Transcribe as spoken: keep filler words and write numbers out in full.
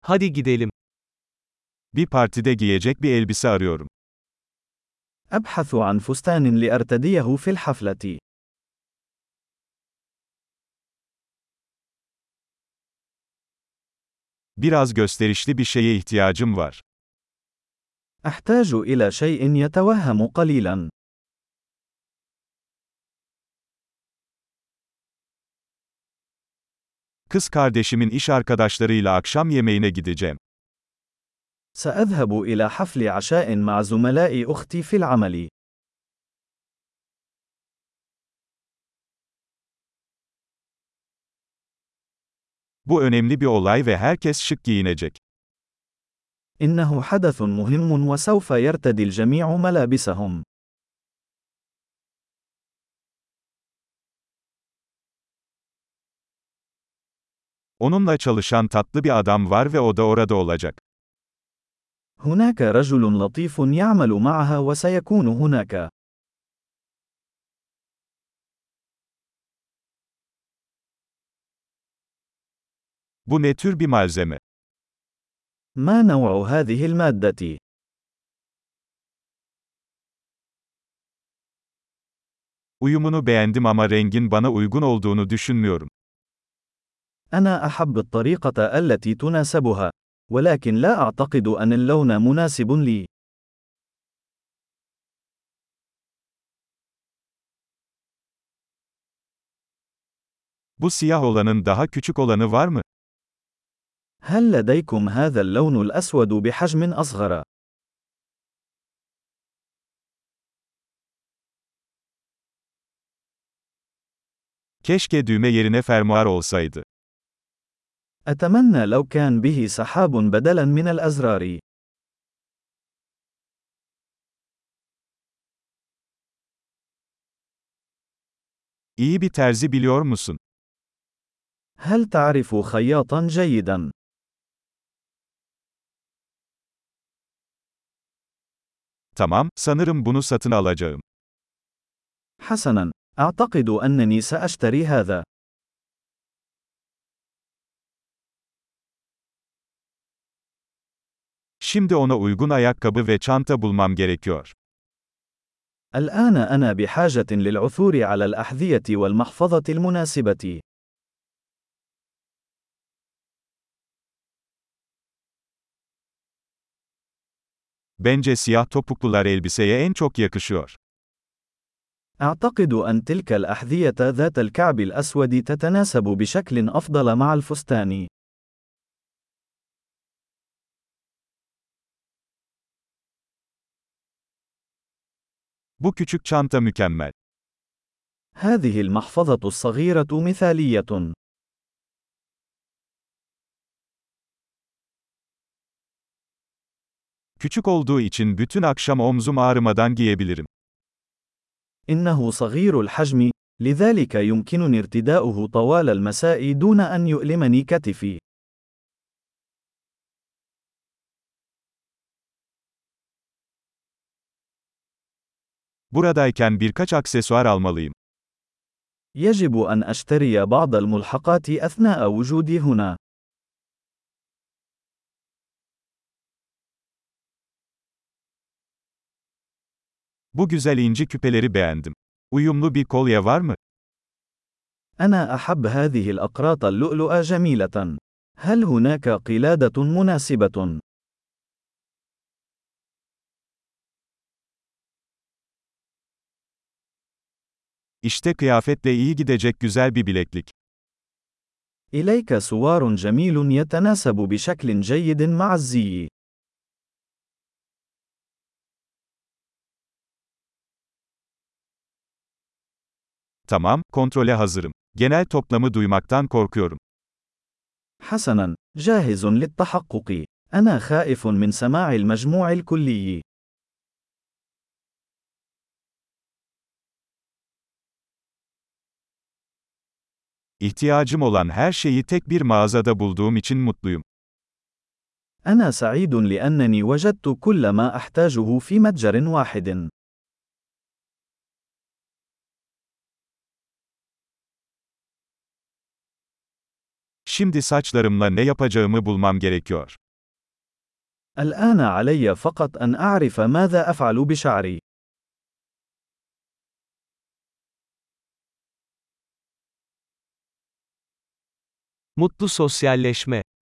Hadi gidelim. Bir partide giyecek bir elbise arıyorum. أبحث عن فستان لأرتديه في الحفلة. Biraz gösterişli bir şeye ihtiyacım var. أحتاج إلى شيء يتوهم قليلا. Kız kardeşimin iş arkadaşlarıyla akşam yemeğine gideceğim. سأذهب إلى حفل عشاء مع زملاء أختي في العمل. Bu önemli bir olay ve herkes şık giyinecek. إنه حدث مهم وسوف يرتدي الجميع ملابسهم. Onunla çalışan tatlı bir adam var ve o da orada olacak. هناك رجل لطيف يعمل معها وسيكون هناك. Bu ne tür bir malzeme? ما نوع هذه المادة؟ Uyumunu beğendim ama rengin bana uygun olduğunu düşünmüyorum. أنا أحب الطريقة التي تناسبها، ولكن لا أعتقد أن اللون مناسب لي. Bu siyah olanın daha küçük olanı var mı? هل لديكم هذا اللون الأسود بحجم أصغر؟ Keşke düğme yerine fermuar olsaydı. أتمنى لو كان به سحاب بدلاً من الأزرار. İyi bir terzi biliyor musun? هل تعرف خياطاً جيداً؟ Tamam, sanırım bunu satın alacağım. حسناً، أعتقد أنني سأشتري هذا. Şimdi ona uygun ayakkabı ve çanta bulmam gerekiyor. الآن أنا بحاجة للعثور على الأحذية والمحفظة المناسبة. Bence siyah topuklular elbiseye en çok yakışıyor. أعتقد أن تلك الأحذية ذات الكعب الأسود تتناسب بشكل أفضل مع الفستان. Bu küçük çanta mükemmel. هذه المحفظة الصغيرة مثالية. Küçük olduğu için bütün akşam omzum ağrımadan giyebilirim. إنه صغير الحجم، لذلك يمكنني ارتداؤه طوال المساء دون أن يؤلمني كتفي. Buradayken birkaç aksesuar almalıyım. يجب أن أشتري بعض الملحقات أثناء وجودي هنا. Bu güzel inci küpeleri beğendim. Uyumlu bir kolye var mı? أنا أحب هذه الأقراط اللؤلؤة جميلة. هل هناك قلادة مناسبة؟ İşte kıyafetle iyi gidecek güzel bir bileklik. إليك سوار جميل يتناسب بشكل جيد مع الزي. Tamam, kontrole hazırım. Genel toplamı duymaktan korkuyorum. حسناً، جاهز للتحقق. أنا خائف من سماع المجموع الكلي. İhtiyacım olan her şeyi tek bir mağazada bulduğum için mutluyum. أنا سعيد لأنني وجدت كل ما أحتاجه في متجر واحد. Şimdi saçlarımla ne yapacağımı bulmam gerekiyor. الآن علي فقط أن أعرف ماذا أفعل بشعري. Mutlu sosyalleşme.